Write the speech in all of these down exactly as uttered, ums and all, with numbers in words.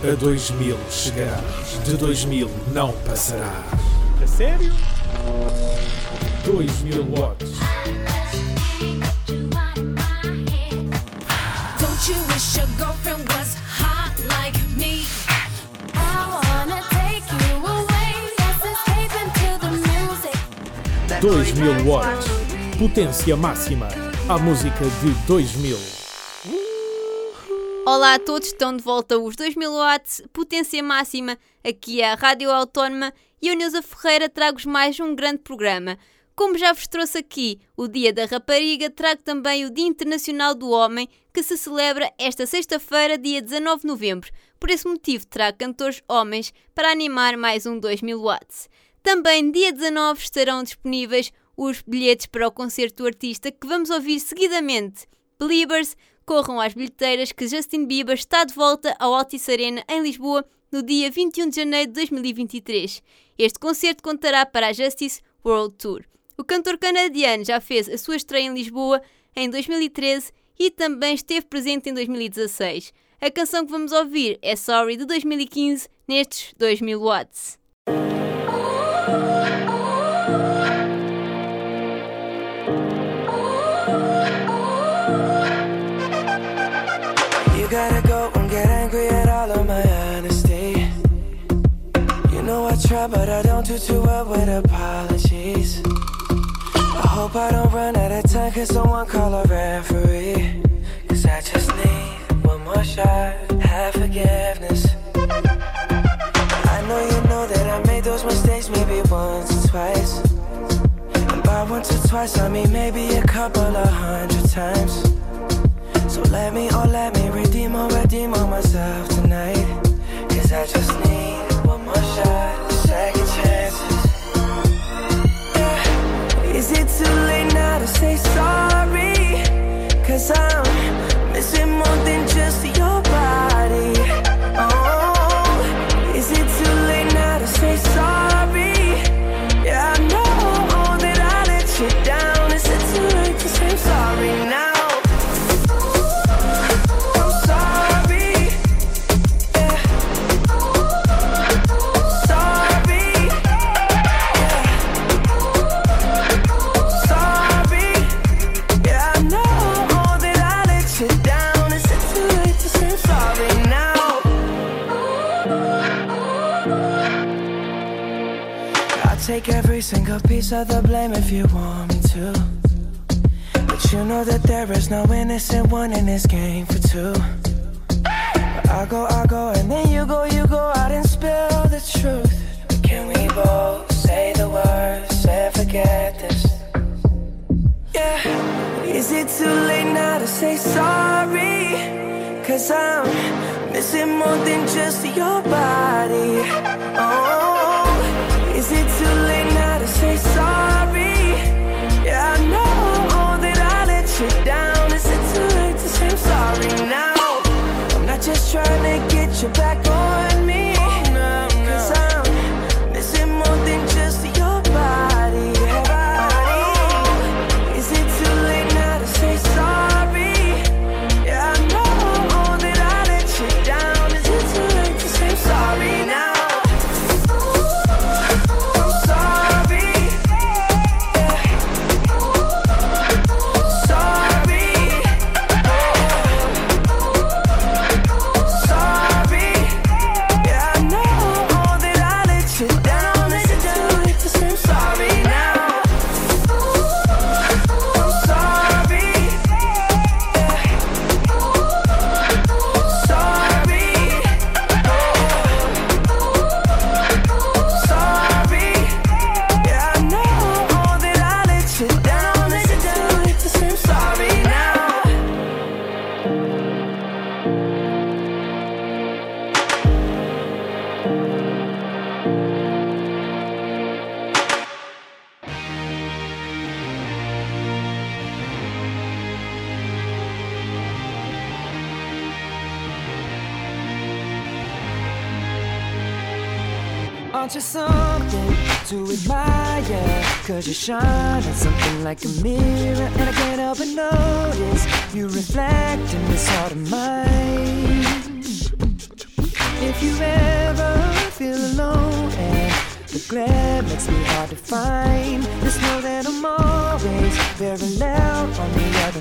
A dois mil chegarás, de dois mil não passarás. A sério? dois mil watts. Don't you wish your girlfriend was hot like me? I wanna take you away. Let's escape into the music. dois mil watts. Potência máxima. A música de dois mil. Olá a todos, estão de volta os dois mil watts, potência máxima, aqui é a Rádio Autónoma e eu, Neuza Ferreira, trago-vos mais um grande programa. Como já vos trouxe aqui o Dia da Rapariga, trago também o Dia Internacional do Homem, que se celebra esta sexta-feira, dia dezanove de novembro. Por esse motivo, trago cantores homens para animar mais um dois mil watts. Também, dia dezanove, estarão disponíveis os bilhetes para o concerto do artista que vamos ouvir seguidamente. Believers, corram às bilheteiras que Justin Bieber está de volta ao Altice Arena em Lisboa no dia vinte e um de janeiro de dois mil e vinte e três. Este concerto contará para a Justice World Tour. O cantor canadiano já fez a sua estreia em Lisboa em dois mil e treze e também esteve presente em dois mil e dezasseis. A canção que vamos ouvir é Sorry de dois mil e quinze nestes dois mil watts. You gotta go and get angry at all of my honesty. You know I try but I don't do too well with apologies. I hope I don't run out of time, cause someone call a referee. Cause I just need one more shot, have forgiveness. I know you know that I made those mistakes maybe once or twice. And by once or twice I mean maybe a couple of hundred times. So let me, oh let me redeem or redeem on myself tonight. Cause I just need one more shot, second chances. Yeah. Is it too late now to say sorry? Cause I'm missing more than just your body. Oh, is it too late now to say sorry? Yeah, I know that I let you down. Is it too late to say sorry now? Take every single piece of the blame if you want me to. But you know that there is no innocent one in this game for two. But I go, I go, and then you go, you go out and spill the truth. But can we both say the words and forget this? Yeah. Is it too late now to say sorry? Cause I'm missing more than just your body. Oh, is it too late now to say sorry? Yeah, I know that I let you down. Is it too late to say I'm sorry now? I'm not just trying to get you back on me. Cause I'm missing more than just your body. Oh, is it too late now to say sorry? Yeah, I know that I let you down. Is it too late to say I'm sorry now? Aren't you something to admire? Cause you shine at something like a mirror, and I can't help but notice you reflect in this heart of mine. If regret makes me hard to find. Just know that I'm always very loud on the other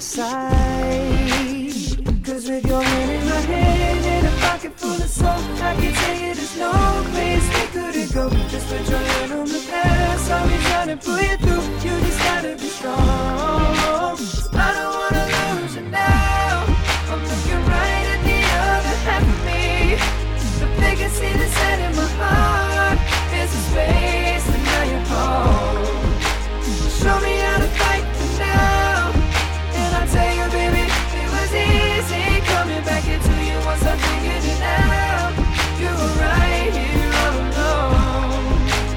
side. Cause with your hand in my hand and a pocket full of soul, I can tell you there's no place we couldn't go. Just put your hand on the past, I'll be trying to pull you through. You just gotta be strong. I don't wanna lose you now. I'm looking right at the other half of me. The vacancy that's set in my heart is a space, and now you're home. Show me how to fight for now, and I'll tell you, baby, it was easy coming back into you once I figured it out. You were right here all alone.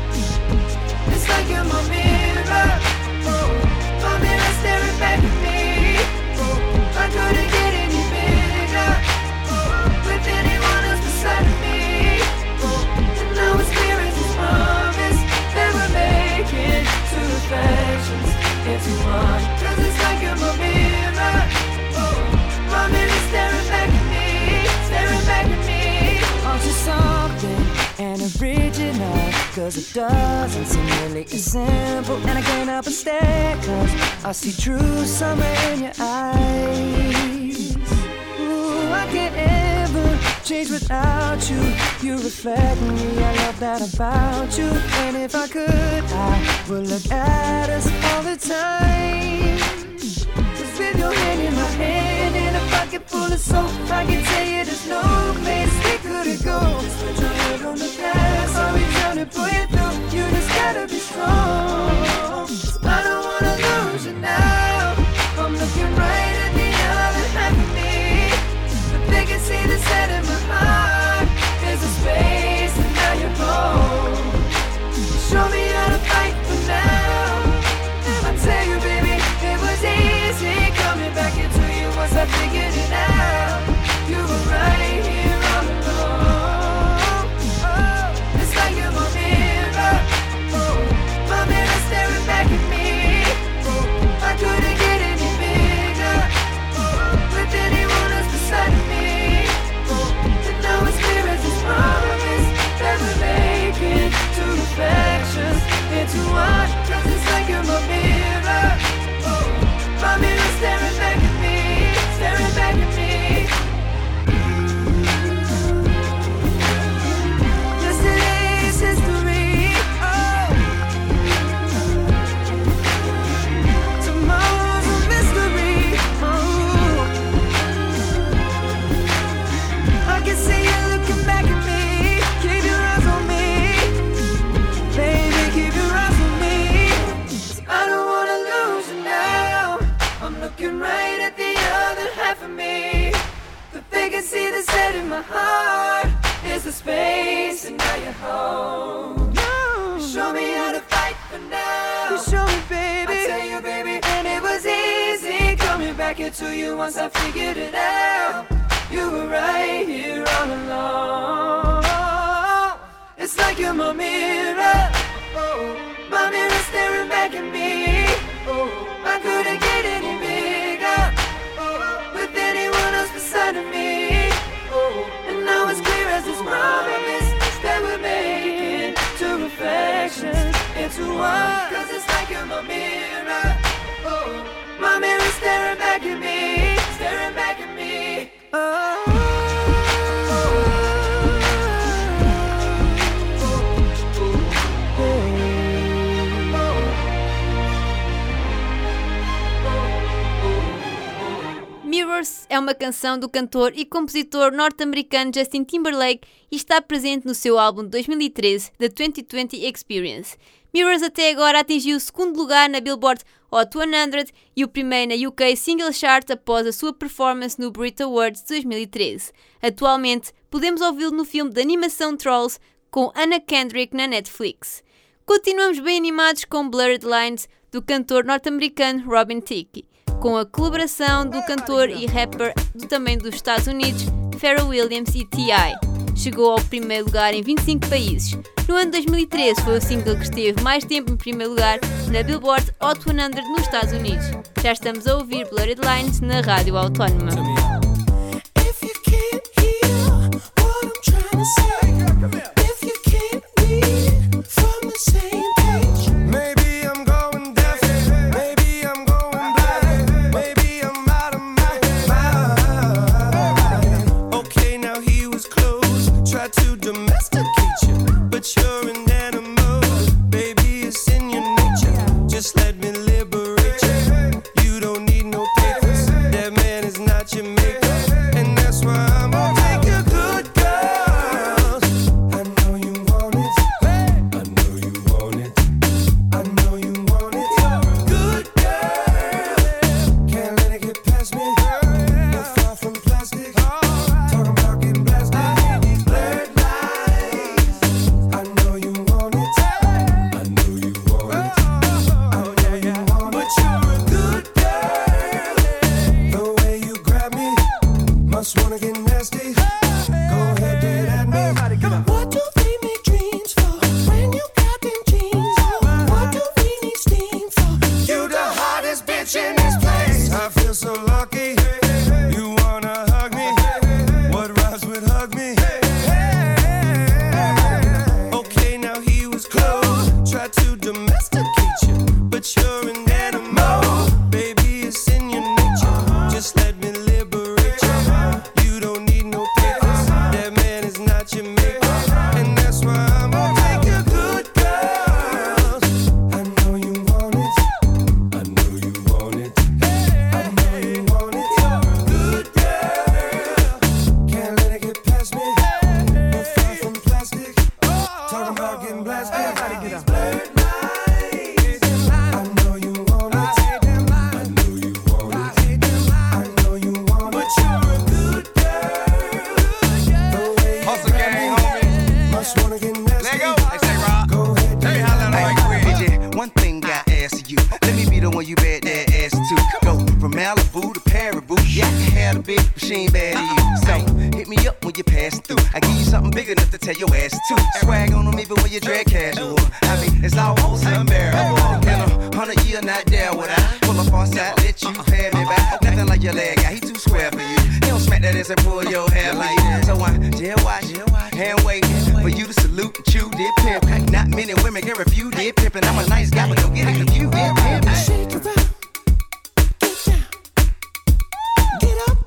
It's like you're my mirror, oh, my mirror staring back at me. Oh, I couldn't get any bigger, oh, with anyone else beside me. Oh, and now it's clear as this promise that we're making two reflections into one. Cause it's like you're my mirror, oh, my mirror staring back at me, staring back at me. Aren't you something and original? Cause it doesn't seem really as simple. And I can't help but stare, cause I see true summer in your eyes. Ooh, I can't ever change without you. You reflect me, I love that about you. And if I could, I would look at us all the time. Cause with your hand in my hand and a pocket full of soap, I can tell you there's no place we couldn't go. Just put your head on the past, I'll be trying to pull you through. You just gotta be strong. I don't wanna lose you now. I'm looking right at the other half of me. The vacancy that's set in my heart is a space, and now you're home. Show me how to fight for now, and I tell you, baby, it was easy coming back into you once I figured it out. You were right here all along. Oh, it's like you're my mirror, oh, my mirror staring back at me. Oh, I couldn't get any bigger, oh, with anyone else beside me. Oh, and now it's clear as this promise that we're making two reflections into one. Cause it's like you're my mirror, oh, my mirror staring back at me, staring back at me. Yesterday's history, oh, tomorrow's a mystery, oh, I can see you looking back at me. Keep your eyes on me, baby, keep your eyes on me. I don't wanna lose you now. I'm looking right at the other half of me. The vacancy that's set in my heart is the space, and now you're home. You show me how to fight for now. You show me, baby. I tell you, baby, and it was easy coming back into you once I figured it out. You were right here all along. It's like you're my mirror, oh, my mirror staring back at me. Oh, I couldn't get any bigger, oh, with anyone else beside of me. Oh, and now it's clear as this promise that we're making two reflections into one. Cause it's like you're my mirror, oh, my mirror staring back at me, staring back at me. Oh, Mirrors é uma canção do cantor e compositor norte-americano Justin Timberlake e está presente no seu álbum de dois mil e treze, The twenty twenty Experience. Mirrors até agora atingiu o segundo lugar na Billboard Hot cem e o primeiro na U K Single Chart após a sua performance no Brit Awards de dois mil e treze. Atualmente, podemos ouvi-lo no filme de animação Trolls com Anna Kendrick na Netflix. Continuamos bem animados com Blurred Lines do cantor norte-americano Robin Thicke, com a colaboração do cantor e rapper do, também dos Estados Unidos, Pharrell Williams e T I Chegou ao primeiro lugar em vinte e cinco países. No ano de dois mil e treze foi o single que esteve mais tempo em primeiro lugar na Billboard Hot cem nos Estados Unidos. Já estamos a ouvir Blurred Lines na Rádio Autónoma. If you can't hear what I'm trying to say, if you can't read from the enough to tell your ass to swag on them even when you dress casual. I mean, it's almost unbearable. In a hundred year, not there would I pull up on side, let you pay me back. Nothing like your leg guy, he too square for you. He don't smack that ass and pull your hair like that. So I jail watch, hand wait for you to salute and chew did pimp. Not many women can refuse did pimp, and I'm a nice guy, but don't get it confused. Did pimp. Shake it around, get down, get up.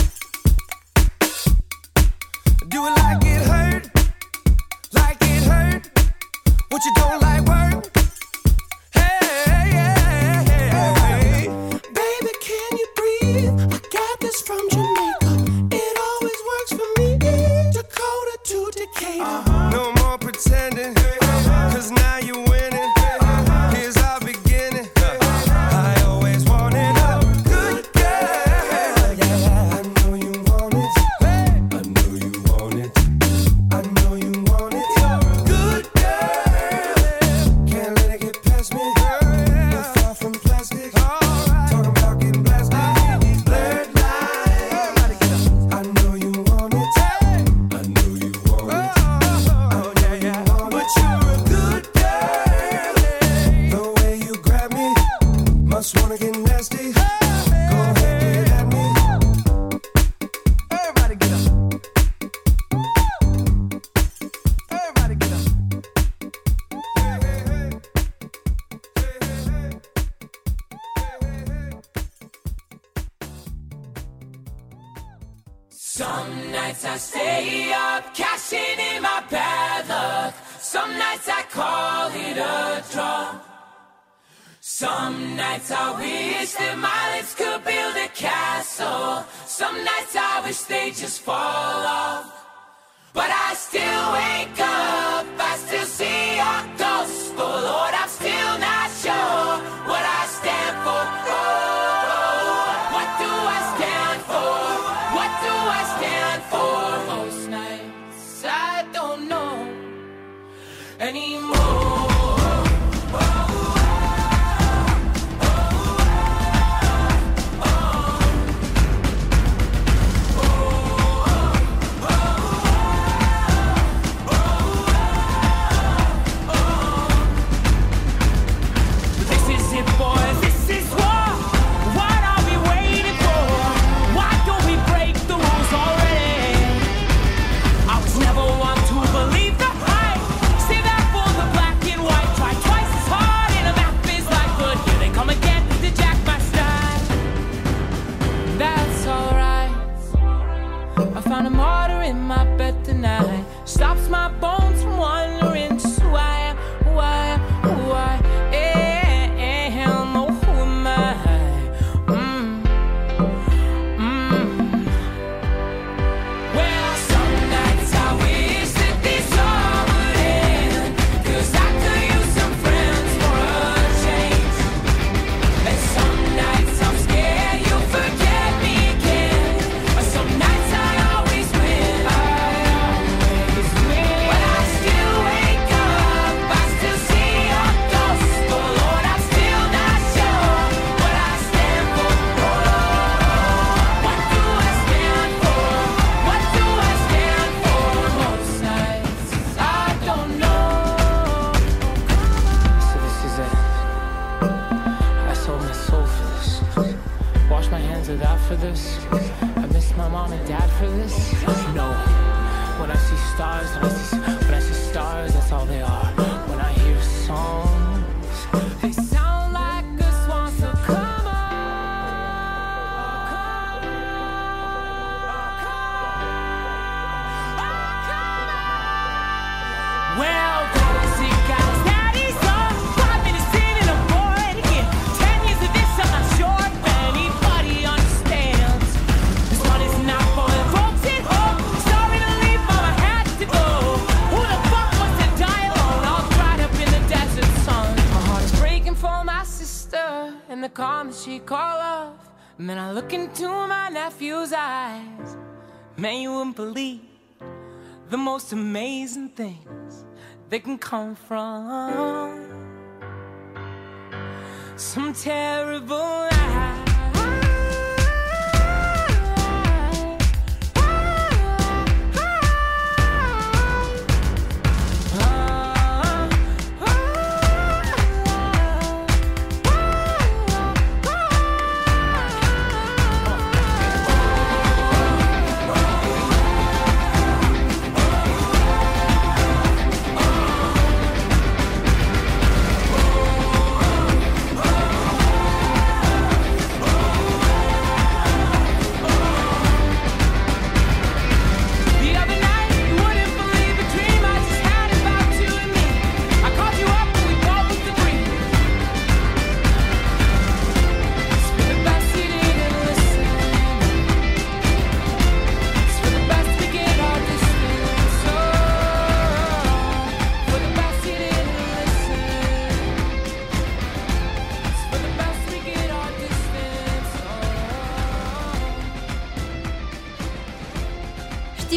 Do it like it hurt, like it hurt. What you don't like work? Hey, hey, hey, hey. Baby, can you breathe? I got this from Jamaica. It always works for me. Dakota to Decatur. Uh-huh. No more pretending, cause now you're winning. Here's our beginning. I always wanted a good girl. Yeah, I know you want it. I know you want it. I know you want it. Good girl. Can't let it get past me. We're far from plastic. Talking about getting blasted. Blurred lines. I know you want it. I know you want it. Oh, yeah, yeah. But you're a good girl. The way you grab me, must wanna get nasty. Go ahead, get at me. Everybody get up. Everybody get up. Hey, hey, hey. Hey, hey, hey. Hey, hey, hey. Some nights I stay up, cashing in my bad luck. Some nights I call it a draw. Some nights I wish that my lips could build a castle. Some nights I wish they just fall off. But I still wake up, I still see your ghost. Oh Lord, I'm still not sure what I stand for. Oh, what do I stand for? What do I stand for? Most nights I don't know anymore. This is it, boys. This is war. What are we waiting for? Why don't we break the rules already? I was never one to believe the hype. Say that for the black and white. Try twice as hard and a map is like, but here they come again to jack my style. That's alright. I found a martyr in my bed tonight. Stops my bones from wandering. Just who I am, who I am, who I am. Oh, who am I? Mm. Mm. Well, some nights I wish that this all would end, 'cause I could use some friends for a change. And some nights I'm scared you'll forget me again. But some nights I always win. I always win. But I still wake up, I still see your ghost. Oh Lord, I'm still not sure what I stand for. What do I stand for? What do I stand for? Most nights I don't know. So this is it. I sold my soul for this. Wash my hands of that for this. I miss my mom and dad for this. No. When I see stars, when I see, when I see stars, that's all they are. When I hear songs, they sound like a swan. So come on. Well, guys, it guys, daddy's on. Five minutes in and I'm bored again. Ten years of this, I'm not sure if anybody understands. This one is not for the folks at home. Sorry to leave, mama had to go. Who the fuck wants to die alone? All dried up in the desert sun. My heart is breaking for my sister and the calm that she call off. And then I look into my nephew's eyes. Man, you wouldn't believe the most amazing things they can come from some terrible lie.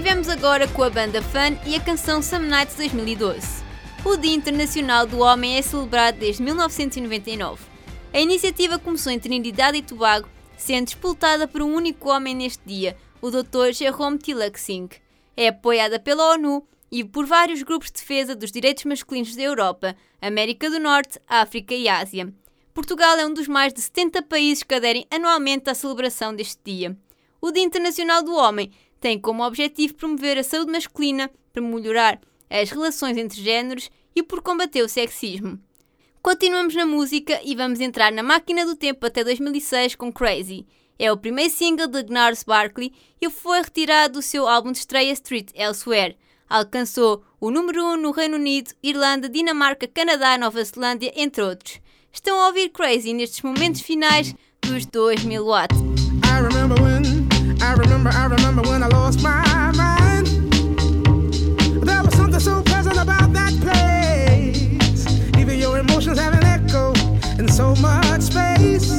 Tivemos agora com a banda Fun e a canção Some Nights dois mil e doze. O Dia Internacional do Homem é celebrado desde mil novecentos e noventa e nove. A iniciativa começou em Trinidade e Tobago, sendo disputada por um único homem neste dia, o doutor Jerome Tilak Singh. É apoiada pela ONU e por vários grupos de defesa dos direitos masculinos da Europa, América do Norte, África e Ásia. Portugal é um dos mais de setenta países que aderem anualmente à celebração deste dia. O Dia Internacional do Homem tem como objetivo promover a saúde masculina para melhorar as relações entre géneros e por combater o sexismo. Continuamos na música e vamos entrar na máquina do tempo até dois mil e seis com Crazy. É o primeiro single de Gnarls Barkley e foi retirado do seu álbum de estreia Street Elsewhere. Alcançou o número um no Reino Unido, Irlanda, Dinamarca, Canadá, Nova Zelândia, entre outros. Estão a ouvir Crazy nestes momentos finais dos dois mil watts. I remember when, I remember, I remember when I lost my mind. There was something so pleasant about that place. Even your emotions have an echo in so much space.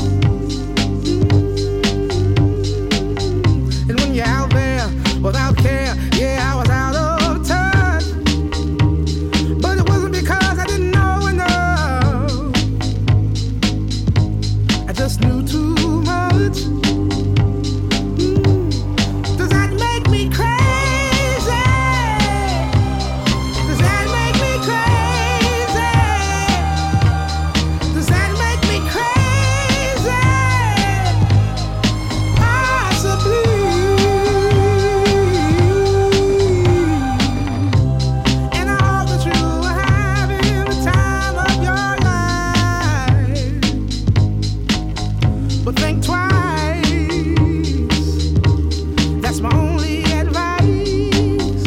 And when you're out there without care, yeah, I was out of touch. But it wasn't because I didn't know enough. I just knew too much. Does that make me crazy? Does that make me crazy? Does that make me crazy? Possibly. And I hope that you are having the time of your life. But think twice. That's my only advice.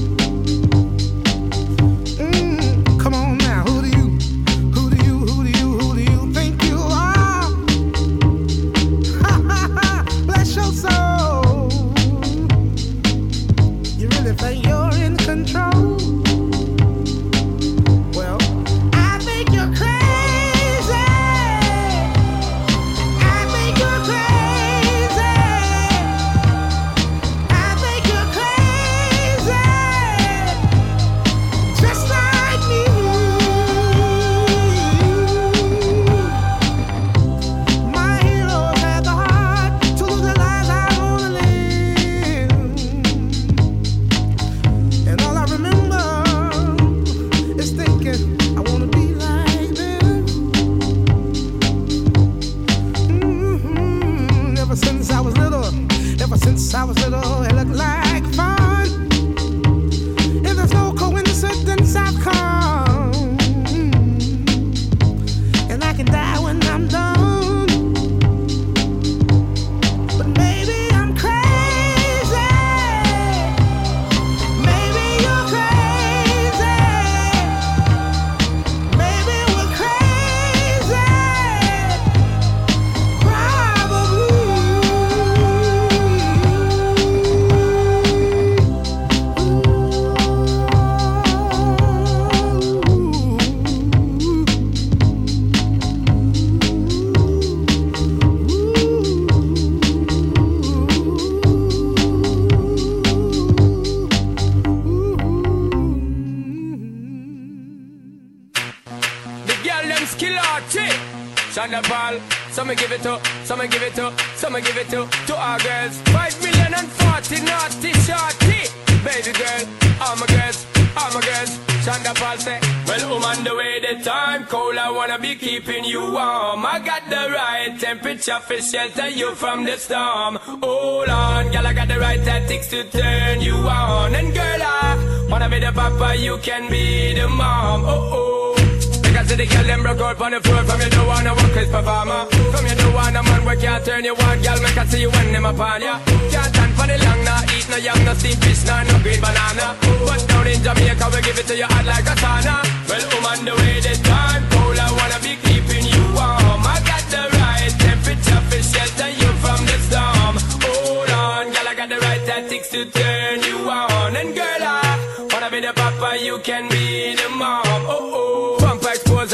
Mm, come on now, who do you, who do you, who do you, who do you think you are? Ha ha ha, bless your soul. You really think you're in control? Well, I think you're crazy. I think you're crazy. I think you're crazy, just like me. My heroes had the heart to lose their lives. I wanna live, and all I remember is thinking I wanna be like them. Mhm. Ever since I was little, ever since I was little, it looked like fun. If there's no coincidence, I've come, and I can die when I'm done. But maybe I'm crazy. Maybe you're crazy. Maybe we're crazy. The girl them skill arty. Shonda Paul, some give it to, some give it to, some give it to, to our girls. Five million and forty naughty shorty. Baby girl, all my girls, all my girls. Shonda Paul say, well, I'm on the way, the time cold, I wanna be keeping you warm. I got the right temperature for shelter you from the storm. Hold on, girl, I got the right tactics to turn you on. And girl, I wanna be the papa, you can be the mom. Oh oh. Because the girl them broke out on the floor. From you don't wanna work as performer. From you don't wanna man where can't turn you on. Girl, make I see you when them upon ya. Can't stand for the long, nah eat no yam, no steamed fish, nah no green banana. But down in Jamaica we give it to you hot like a sauna. Well, I'm on the way this time cold, I wanna be keeping you warm. I got the right temperature for shelter you from the storm. Hold on, girl, I got the right tactics to turn you on. And girl, I wanna be the papa, you can be the mom. Oh oh. Expose and girl, you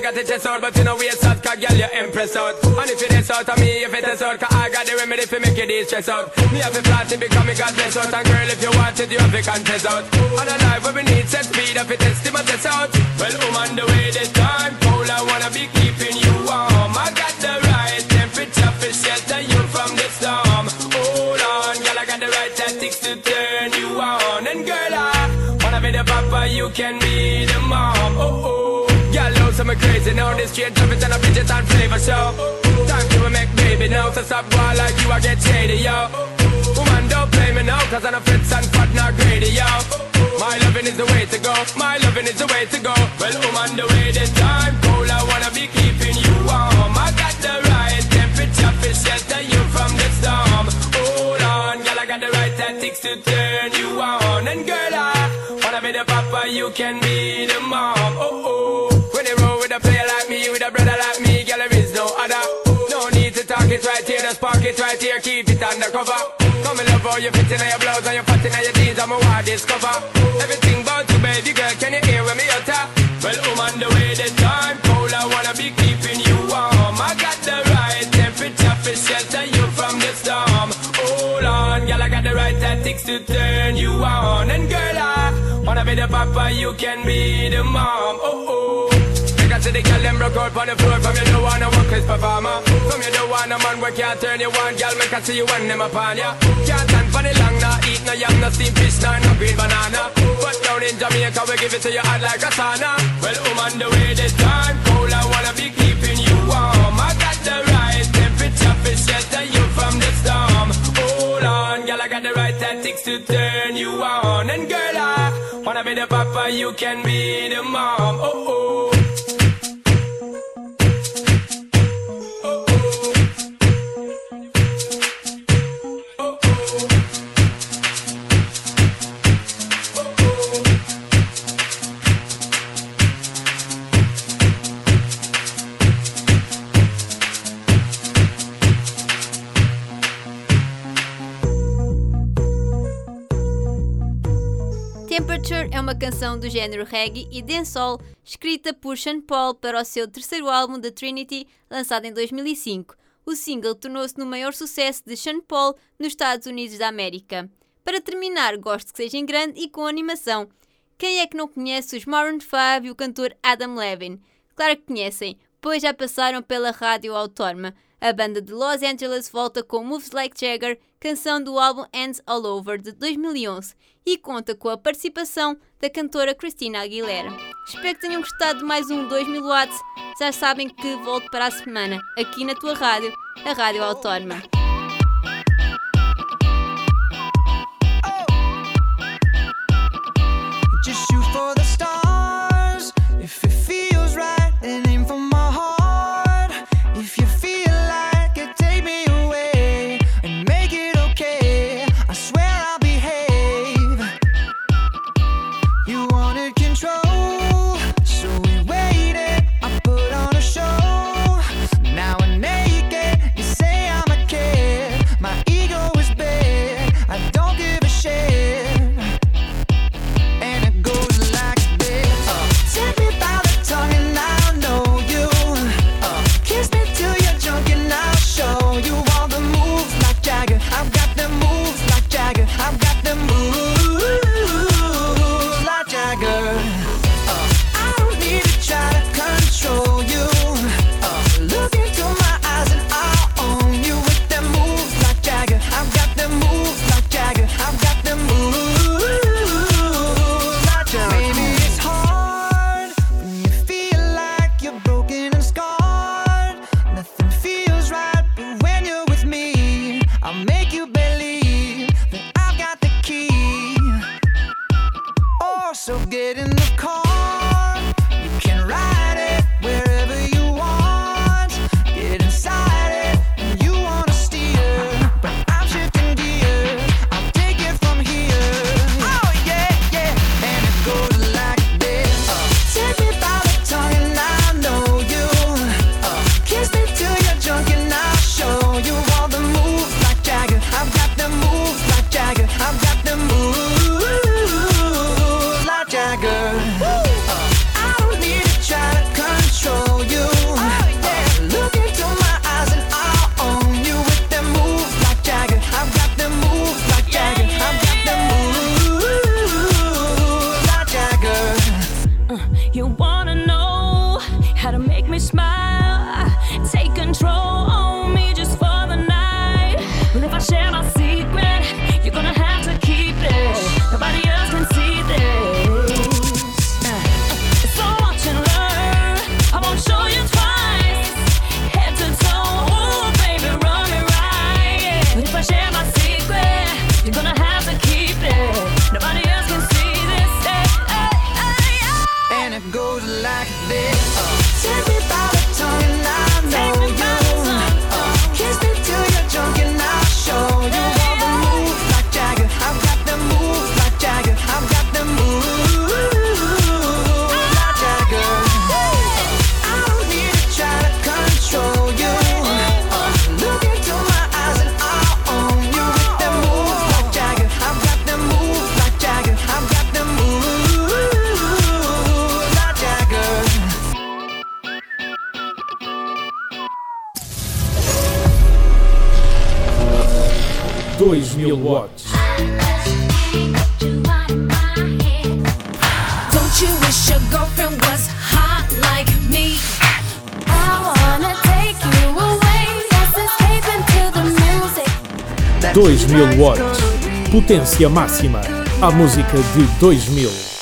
got the chest out, but you know we a sad car, girl, you impress out. And if it is out of me, if it is out, cause I got the remedy for make you de-stress out. Me have a flat to become me God bless out. And girl, if you want it, you have to contest out. And a life where we need set speed, if it is to my test out. Well, I'm on the way this time, cold, I wanna be keeping you warm. I got the right temperature for shelter you from the storm. Hold on, girl, I got the right tactics to turn you on. And girl, I wanna be the papa, you can be the mom. Oh, oh. Girl, know some crazy now. This straight traffic and a Bridget and flavor show. Time to make baby now. So stop boy like you, I get shady, yo. Woman, don't play me now, cause I'm a fritz and fat, not greedy, yo. My loving is the way to go. My loving is the way to go. Well, I'm on the way this time. Cold, I wanna be keeping you warm. I got the right temperature for shelter you from the storm. Hold on, girl, I got the right tactics to turn you on. And girl, I wanna be the papa, you can be the mom. Oh, oh. When you roll with a player like me, with a brother like me, girl, there is no other. No need to talk it right here, just park it right here, keep it undercover. Come and love how you fit in your blouse and your fat in your jeans, I'm a wild discover. Everything about you, baby girl, can you hear when me utter? Well, I'm on the way this time, cold, I wanna be keeping you warm. I got the right temperature for shelter you from the storm. Hold on, girl, I got the right tactics to turn you on. And girl, I wanna be the papa, you can be the mom. Oh, oh. I see the girl them broke out on the floor. From you don't wanna work as performer. From you don't wanna man work can't turn you on. Girl, make I see you when them upon ya. Can't stand for the long, nah eat no yam, no steamed fish, nah no green banana. But down in Jamaica we give it to you hot like a sauna. Well, I'm on the way this time, cold, I wanna be keeping you warm. I got the right temperature for shelter you from the storm. Hold on, girl, I got the right tactics to turn you on. And girl, I wanna be the papa, you can be the mom. Oh, oh. Temperature é uma canção do género reggae e dancehall escrita por Sean Paul para o seu terceiro álbum The Trinity, lançado em dois mil e cinco. O single tornou-se no maior sucesso de Sean Paul nos Estados Unidos da América. Para terminar, gosto que seja em grande e com animação. Quem é que não conhece os Maroon five e o cantor Adam Levine? Claro que conhecem, pois já passaram pela rádio autónoma. A banda de Los Angeles volta com Moves Like Jagger, canção do álbum Hands All Over de dois mil e onze, e conta com a participação da cantora Christina Aguilera. Espero que tenham gostado de mais um dois mil watts. Já sabem que volto para a semana, aqui na tua rádio, a Rádio Autónoma. Just shoot for the stars. If it feels right, then aim for my heart. If you feel like it, take me away and make it okay. I swear I'll behave. You wanted control, so we waited. I put on a show. Now I'm naked. You say I'm a kid. My ego is big. I don't give a shit. I've got the moves like Jagger. Uh, I don't need to try to control you. Uh, look into my eyes and I'll own you with them moves like Jagger. I've got them moves like Jagger. I've got them moves like Jagger. Maybe it's hard when you feel like you're broken and scarred. Nothing feels right, but when you're with me, I'll make you believe that I've got the key. Oh, so get in the car. You can ride it wherever you want. Get inside it and you wanna steer, but I'm shifting gears. I'll take it from here. Oh yeah, yeah. And it goes like this. Uh, take me by the tongue and I know you. Uh, kiss me till you're drunk and I'll show you all the moves like Jagger. I've got the moves like Jagger. I've got the moves like Jagger. dois mil watts. Don't you wish your girlfriend was hot like me? I wanna take you away. Let's escape into the music. dois mil watts. Potência máxima. A música de dois mil.